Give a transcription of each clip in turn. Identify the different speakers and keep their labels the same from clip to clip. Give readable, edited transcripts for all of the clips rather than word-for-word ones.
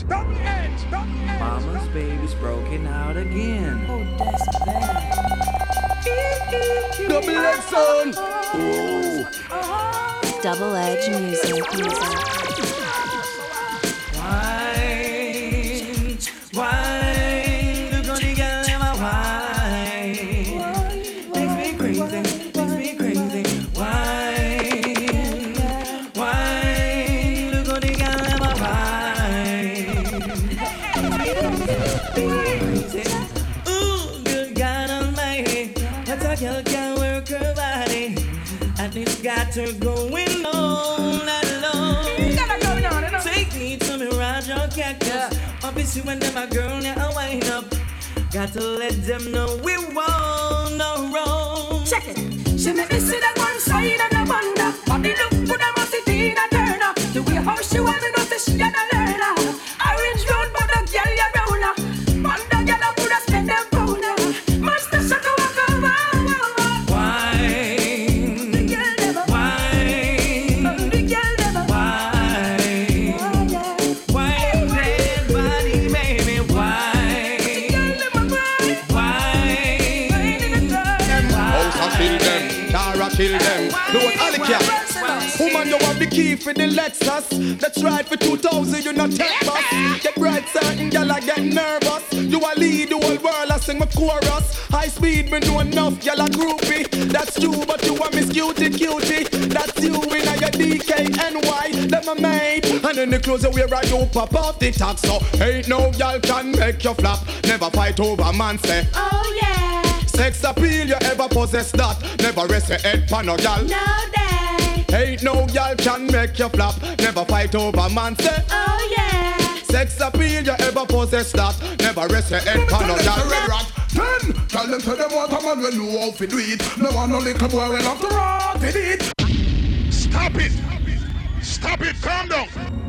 Speaker 1: edge, double edge, double edge.
Speaker 2: Mama's baby's broken out again.
Speaker 3: Oh, that's bad.
Speaker 1: Double edge, son.
Speaker 4: Double Edge music.
Speaker 2: Wine, look on the girl in my wine. Makes me crazy, Wine, look on the girl in my wine. Ooh, good God Almighty, that's a girl can work her body. At least got her going on and alone. Take me to Mirage or Cactus. Obviously when them a girl now wind up, got to let them know we won't no wrong.
Speaker 3: Check it. She make me see that one side and I wonder. Body look good, I must see Tina Turner. The way how she want me know say she and a learner. Orange road, but the girl you round her. Man, the girl I woulda spend them pounder. Master shut the walk over.
Speaker 2: Wine,
Speaker 3: The girl never
Speaker 2: wine,
Speaker 3: The girl never
Speaker 2: wine, wine, dead body, baby, wine,
Speaker 1: House and kill them, Tara kill them. Don't Alicia. Woman, you have the key for the Lexus. Let's ride for 2,000, you not take us. Get bright, certain girl, I get nervous. You a lead the whole world, I sing my chorus. High speed, me know enough, girl, a groupie. That's you, but you a miss cutie. That's you in a your DKNY. Them a mate. And then the clothes you wear, I do pop off the top. So ain't no girl can make you flap. Never fight over man, say.
Speaker 4: Oh yeah,
Speaker 1: Sex appeal, you ever possess that. Never rest your head pan no gal.
Speaker 4: no day.
Speaker 1: Ain't no gal can make you flap. Never fight over man, say.
Speaker 4: Oh yeah,
Speaker 1: Sex appeal, you ever possess that. Never rest your head pan no gal.
Speaker 5: Then, tell them to them what a man will know how to do it. No one no little boy will have to rot in it.
Speaker 1: Stop it! Stop it! Calm down!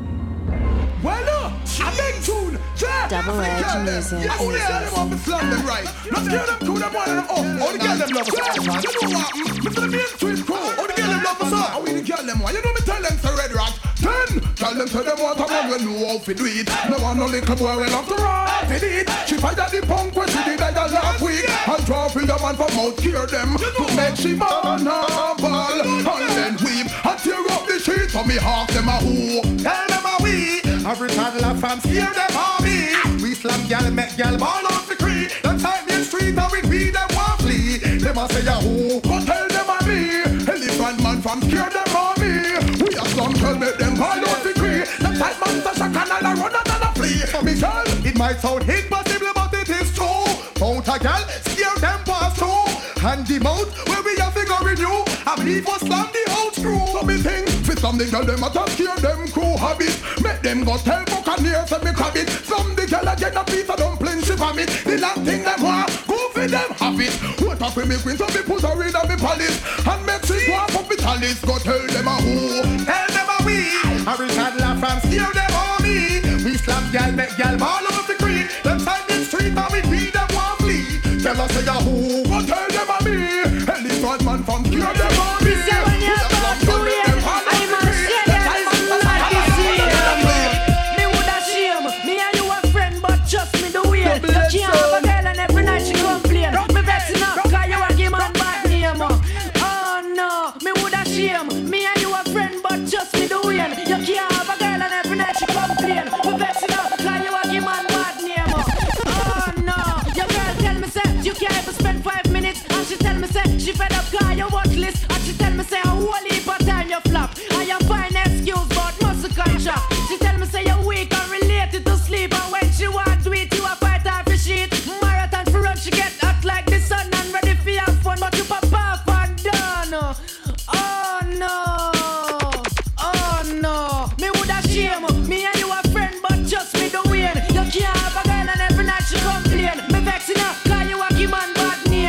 Speaker 5: Well, look, a big tune.
Speaker 4: Double Edge music.
Speaker 5: Yeah, only them want to slam them right. Let's kill them two, them one of them up. All the girl them love us. You know what? Me tell me in twist crew. All the girl them love us. How we the girl them want? You know me tell them to Red Rat. Then, tell them to them what a man will know how to do it. No one no little boy will have to rot in it. She fight at the punk when she did that last week. And draw from the man from out cure them. To make she vulnerable. And then weep and tear up the sheet for me half them a who. Tell them a we. Every toddler from scare them on me. We slam gal, make gal ball off the creek. Them time in street and we beat them one flee. Them a say a who, but tell them a me. Elephant man from scare them on me. We a slum tell make them ball off the creek. Them tight man touch a canal and run and a flee. Me girl, it might sound impossible but it is true. Mount a gal, scare them past through. And the mount where we a figure in you. I believe was slam the old screw. So me think, fit some the girl them a touch scare them crew habit. Make them go tell Buccaneers and me crab it. Some the girl a get a piece of dumpling she vomit. The last thing them want, go for them have it. What up with me queen so me put her in a me palace. And make she go up me chalice. Go tell them a who, tell them a we. Every toddler from steer them on me. We slap gal, make gal ball off the creek. Them side in street and we beat them one flee. Tell us say a who, go tell them a me. Elephant man from steer them on me.
Speaker 3: She fed up cause you worthless. And she tell me say a whole heap of time you flop. And you find excuse but muscle contract. She tell me say you're weak and related to sleep. And when she want to eat you a fight her for shit. Marathon for run she get hot like the sun. And ready for your fun but you pop off and done. Oh no, oh no. Me woulda shame. Me and you a friend but just me the win. You can't have a girl and every night she complain. Me vexing her cause you a give man bad name.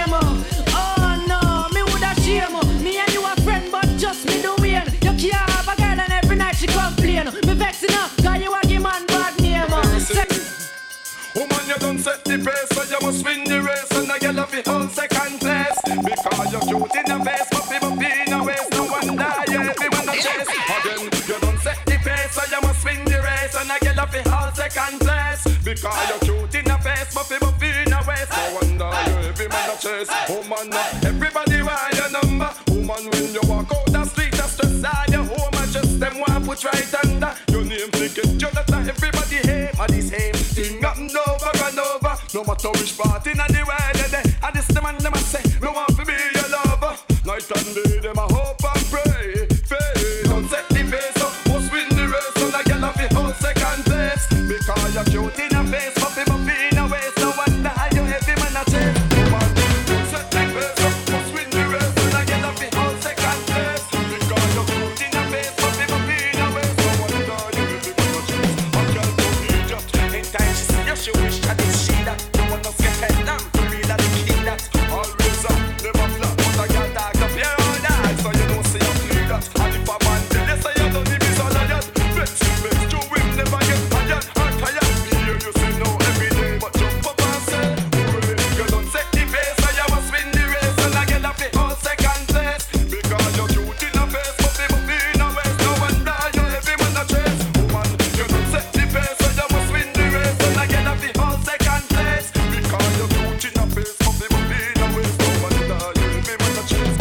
Speaker 3: Me and you a friend, but just me the win. You can't have a girl and every night she complain. Me vexing her, cause you a give man bad name.
Speaker 5: Woman, you done set the pace, so you must win the race. And the girl of the whole second place. Because you're cute in the face, but people in the waist. No wonder, yeah, everyone a chase. Again, you done set the pace, so you must win the race. And the girl
Speaker 1: a fi hold second place. Because you're cute in the face, buffy in the waist. No wonder you every man a chase. Woman, everybody want your number. Woman, when you walk out the street, just stress your home and just them want put right under your name. Thinking Jonathan, everybody hate for the same thing. Nothing over and over. No matter which part in the world they day. And this the man them a say, no want to be your lover. Night and day them a hope and pray. Faith, don't set the pace up. Must win the race, so the girl of the whole second place. Because you're cute in the face, buffy in the waist. No wonder you heavy man a chase. Woman, don't set the pace up. Must win the race, so the girl of the whole second place. Because you're cute in the face, buffy in the waist. No wonder you heavy man a chase. A girl don't need just in time she see you, she wish that it's she that. You wanna get head down, to real that the key that. Always up, never flat, but I got dark up here all night. So you don't see you clear that. And if a man tell you say you don't need this all of that, flex to him, never get tired. I'm tired, me hear you say no every day, but jump up and say, hooray. You don't set the pace, so you must win the race. And I get up the whole second place. Because you're cute in the face, buffy in the waist. No wonder you heavy man a chase. Woman, you don't set the pace, so you must win the race. And I get up the whole second place. Because you're cute in the face, buffy in the waist. No wonder you heavy man a chase.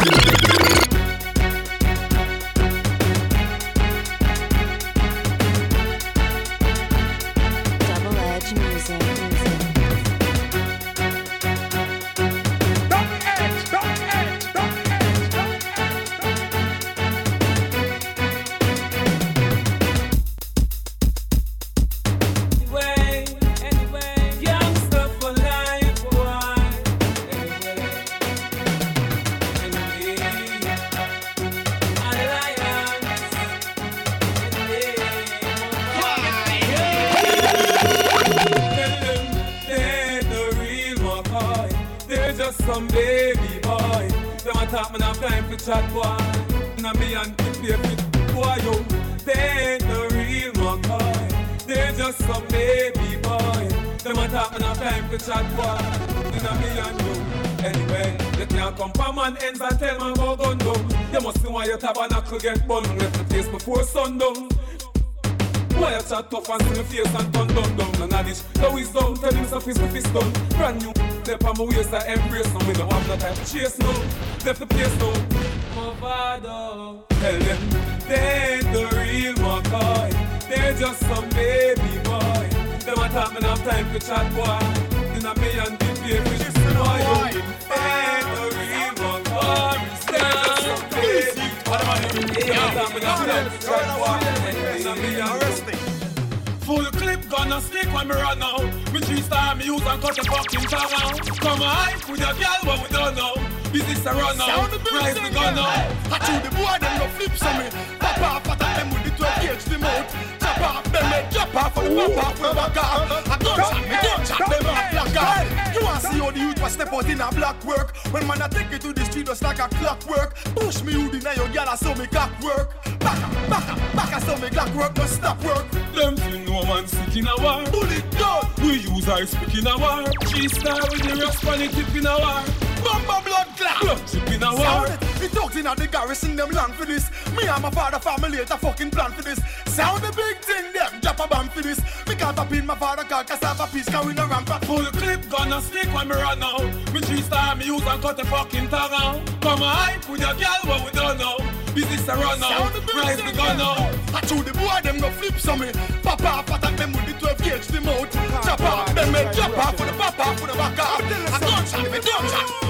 Speaker 4: Double Edge Music.
Speaker 2: Anyway, youngster for life, boy. Anyway, alliance. They're the real McCoy. They're just some baby boy. Them a talk, man, have time for chat, boy. Now me and the baby boy, yo. They're the real McCoy. They're just some baby boy. Them a talk, man, have time for chat, boy. Now me and you. Anyway, you can't come from man ends and tell man go gun down. You must see why your tabernacle get bun. Left the place before sundown. Why you chat tough and see me face and turn down. None of this, no is down. Tell him so fist to fist down. Brand new, step on my waist I embrace. No, we don't have no time to chase no. Left the place now. My father, tell them they ain't the real McCoy. They're just some baby boy. Them a talk, man, have time to chat, boy. Then I me and the baby, this boy. They ain't the real McCoy. They're just some baby boy. Them a talk, man, have time to chat, boy. Then I me and full clip gonna stick when me run out. Me 3-star me use and cut the fucking tongue out. Come on, with your girl, what we don't know. Business a run out, rise the gun out.
Speaker 5: I chew the boy, them no flips on me. Papa, pata them with the 12 gauge the mouth. Chop off them, they drop off for the papa with the back off. I don't chat them off black off. You want to see how the youth was step out in a black work. When man I take it to the street just like a clockwork. Push me you deny your girl, I saw me clock work. Back, I saw me clock work, no stop work.
Speaker 2: Them feel no man sick in a war.
Speaker 5: Bullet gun.
Speaker 2: We use our speak in a war. 3-star with the rest on the tip in a war.
Speaker 5: Mamba blood clot.
Speaker 2: Blood chip in a war.
Speaker 5: We talked in at the garrison, them long for this. Me and my father family had a fucking plan for this. Sound the big thing, them drop a bomb for this. Me can't pop in my father car, cassava piece, can we no ramp up.
Speaker 2: Full clip gonna stick when me run out. Me 3-star me use and cut the fucking tongue out. Come on, with your girl, what we don't know. Business a run out, rise the gun out.
Speaker 5: I chew the boy, them no flips on me. Papa, attack them with the 12 gauge the mouth. Chop off, them make chop off for the papa, for the back off. I don't chat, me don't chat.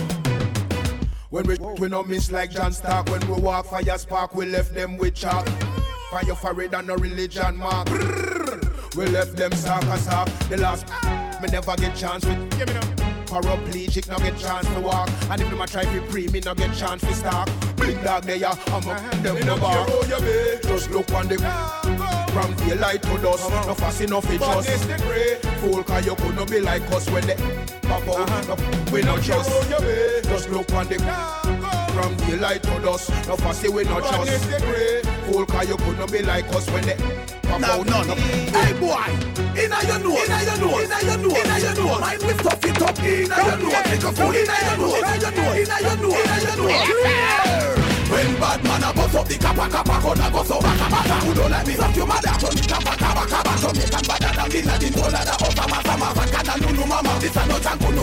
Speaker 5: When we no miss like John Stark. When we walk fire spark, we left them with chalk. Fire forehead and no religion mark. We left them sock. The last me never get chance with. Give me them. Paraplegic no get chance to walk. And if them a try to pre, me no get chance to stalk. Big dog there, I'm up them in the bar. Just look on the from daylight to dusk. No fast enough it just fool, cause you could not be like us when they pop out. We not just look on the from daylight to dusk. No fast we not just fool, cause you could not be like us when they pop out. Hey boy, inna your nose, inna your nose, inna your nose, inna your nose. Mind me stuff it up, inna your nose. Take a fool, inna your nose, inna your nose, inna your nose, inna your nose. When bad man a bust up the kappa, gonna go so baka. Who don't like me, fuck your mother, turn me kappa, to me.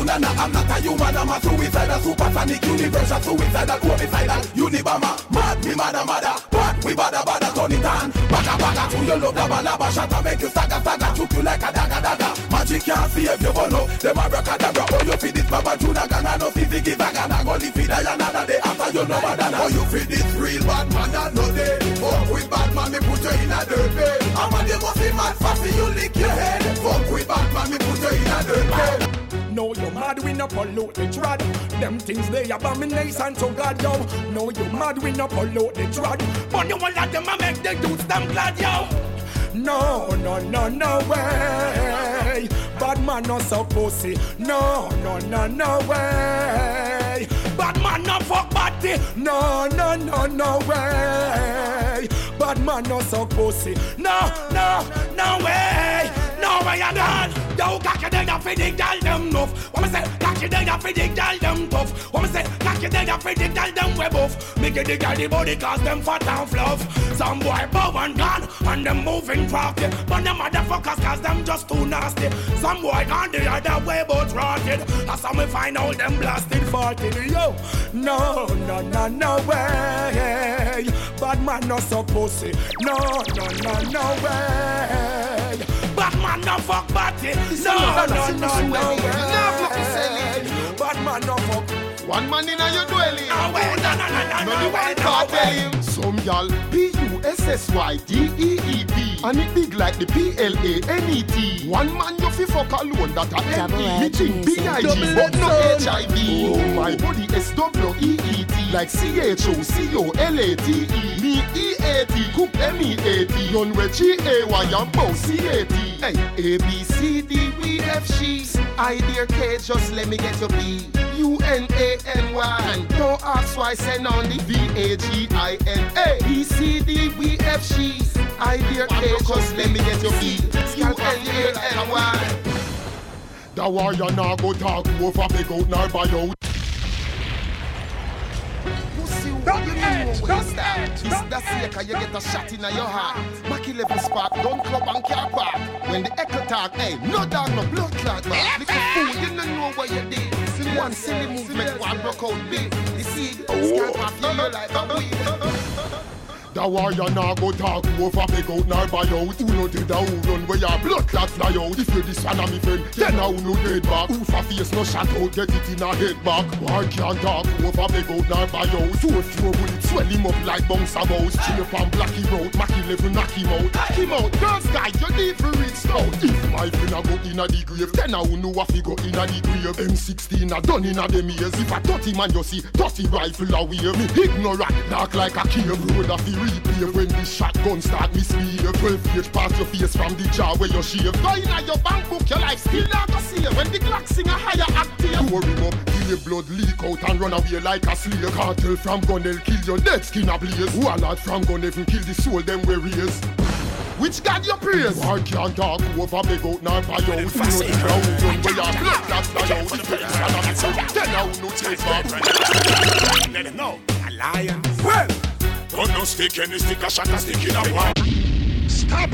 Speaker 5: bandana. I'm not a human, I'm a suicidal, supersonic, universal, suicidal, homicidal, unibama. Mad, me mada, but we bada, turn it on. Baga, to your love, laba, shatter, make you saga, choke you like a daga. Magic can't save you, but no, them abracadabra. Oh, you feed this Baba Juna, Gana, no fiziki, Vagana, go live it another day after you know badana. Oh, you feed this real bad man, that no day. Fuck with bad man, me put you in a dirt bed. I'm a demo, see mad fast, you lick your head. Fuck with bad man, me put you in a dirt bed.
Speaker 1: No, you mad, we no pollute the trad. Them things they abomination to God, yo. No, you mad, we no pollute the trad. But you want let them make the dudes them glad, yo. No way. Bad man no so pussy. No way. Bad man no fuck body. No way. Bad man no so pussy. No way. No way at all. Yo, cocky day ya fi the gal them nuff. What me say? Cocky day ya fi the gal them tough. What me say? Cocky day ya fi the gal them web off. Make it the gal the body cause them fat and fluff. Some boy bow and gone and them moving crafty. But them motherfuckers cause them just too nasty. Some boy gone the other way but rotted. That's how me find all them blasted farted. Yo, no way. Bad man no so pussy. No way. Bad man no fuck body. No way. Bad man no fuck.
Speaker 6: One man in your dwelling.
Speaker 1: No way.
Speaker 6: Some y'all PUSSYDEED and it big like the PLANET. One man you fi fuck alone that a empty. Me think BIG but no HIV. Oh my body SWEET like CHOCOLATE. Me EAT cook MEAT. Yon we GAY and bow CAT. Hey, ABCD we F G. I dear K just let me get your B. UNANY and don't ask why send on the VAGINA. BCD we F G. I dear K just let me get your B. UNANY. The warrior now go talk over big out nor buy out. It's the seeker, you get a shot in your heart. Mackie level spark, don't club and car park. When the echo talk, hey, no dog, no blood clot, man. Little fool, you don't know what you did. One silly movement, one broke out big. You see, scalp off your like a weed. The warrior now go talk over big out nor buy out. Who no did a who run where your blood clot fly out. If you this one of me friend, then now no dead back. Who for face no shot out, get it in a head back. War can't talk over big out nor buy out. 4 bullets swell him up like bounce a mouse. Chip and black him out, Mackie level knock him out. Knock him out, girls guy, you need for reach out. If my friend a go in a the grave, then now know what he go in a the grave. M16 a done in a them years. If a 30 man you see, 30 rifle away. Me ignorant, dark like a cave. Road a fi replay when the shotgun start misbehave. 12 gauge past your face from the jaw where you shave. Go in a your bank book, your life still not to see. When the Glock sing a higher octave, pour him up, till your blood leak out and run away like a slave. Cartel from gun, they'll kill your dead skin ablaze. Warlord from gun, even kill the soul them we raise. Which God you praise? War can't talk over big out nor buy out. You know the ground run where your blood clot fly out. If it's one of it, then now no take back.
Speaker 7: Let them know, a lion. Well, don't no stick any stick a shot a stick in a wall.
Speaker 6: Stop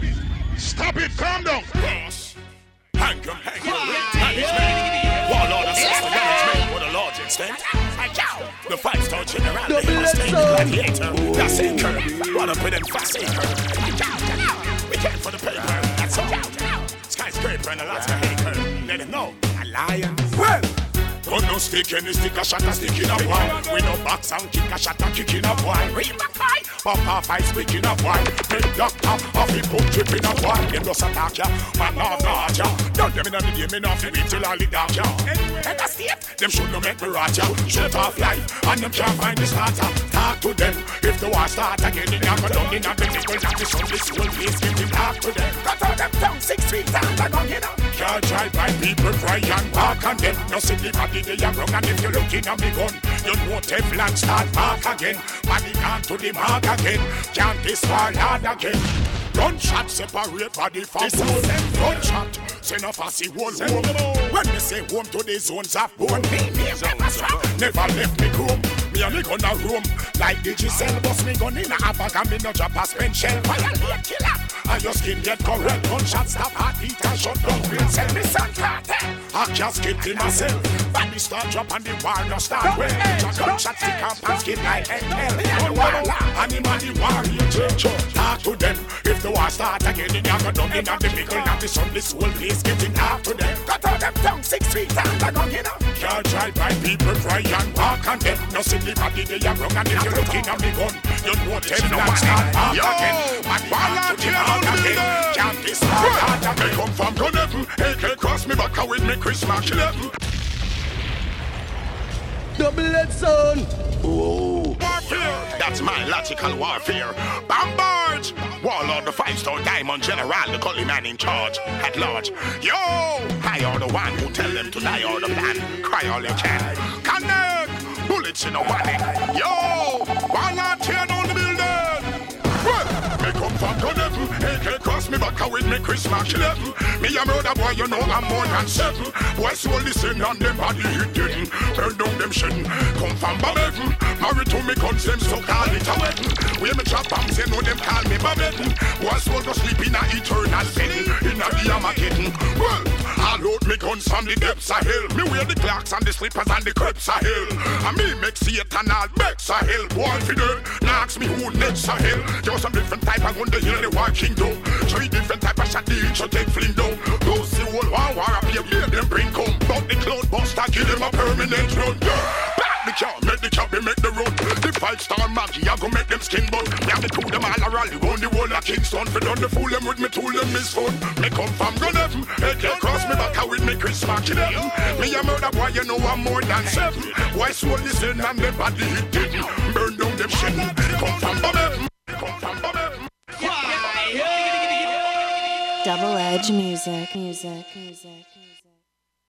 Speaker 6: it, calm down.
Speaker 7: Yes. Hang him. Management. Warlord assist the management with a large extent. The 5-star general, they must take gladiator. That's it, curve. What up with them fast curve? We came for the paper, that's all. Skyscraper and a lot of hater. Let them know, a lion. Well, don't no stick any stick a shot a stick in a wall. We no box and kick a shot a kick in a wall. Real back fight, pop off I speak in a wall. Big doctor, off he put trip in a wall. Them just attack ya, man not ya. Don't them in a the game, me not fi wait till all the dark ya. Head a state, them should no make me rot ya. Shut off life, and them can't find the starter. Talk to them, if the war start again, they not go down in a the middle. Not the sun, this whole place, give them talk to them. Cut out them tongue 6 feet down, they gon' get up. Can't try by people cry and bark and them. No see the body they are wrong, and if you looking at me gun, you know Teflon start mark again. Body gone to the mark again. Can't this fall hard again. Gunshot separate body from soul. Gunshot send a fussy whole home. When they say home to the zones of bone, me never left me home. Me and me gonna roam like the Giselle. Bust me gun in a bag and me no drop a spent shell. Violate killer. and your skin get correct. Gunshot stop heartbeat and shut down real cell. Me son cartel, I can't skip in myself. Body start drop and the war no start well. Gunshot stick up and skin like hell. Animal the warrior church. Talk to them. If the war start again, then you go down in the middle of the sun. This whole place getting hard to them. Cut out them tongue 6 feet and the gun, you know. Can't drive by people cry and walk and them. No silly body they are wrong and if you're looking at me gun, you know them not start back again. But one to the heart again. Can't this heart again. They come from gun heaven. AK cross me back with me Christmas 11.
Speaker 1: Double-edged son.
Speaker 7: Oh, warfare. That's my logical warfare. Bombard. Warlord, the 5-star diamond general, the gully man in charge at large. Yo, I are the one who tell them to die or the plan. Cry all you can. Connect. Bullets in a warning. Yo, Warlord, tear down the building. Well, me come from gun heaven. AK cross me back with me Christmas 11. Me a murder boy, you know I'm more than 7. Boy, so listen on them body hit didn't. Turn down them shitting. Come from Babette. Married to me guns, them so call it a wedding. We me trap bombs, you know them call me Babette. Boy, so go sleep in a eternal sin. In a the Armageddon. Well, I load me guns from the depths of hell. Me wear the clocks and the slippers and the crepes of hell. And me make Satan all becks of hell. Boy, fi dead. Now ask me who next of hell. Just some different type of gun, the hill the war kingdom. 3 different type of shot, the each will take fling down. Those the whole war up here, make them bring come. But the cloud buster, give them a permanent run. Back the car, make the cabin, make the run. The 5-star Maggie, I go make them skin bun. Yeah, me two them all a rally, run the whole of Kingston. For done the fool them with me tool them is fun. Me come from gun heaven, AK cross me back with me Christmas 11. Me a murder boy, you know I'm more than 7. Why so listen and the body hit didn't. Burn down them shit. Come from heaven, come from heaven.
Speaker 4: Double-edged music.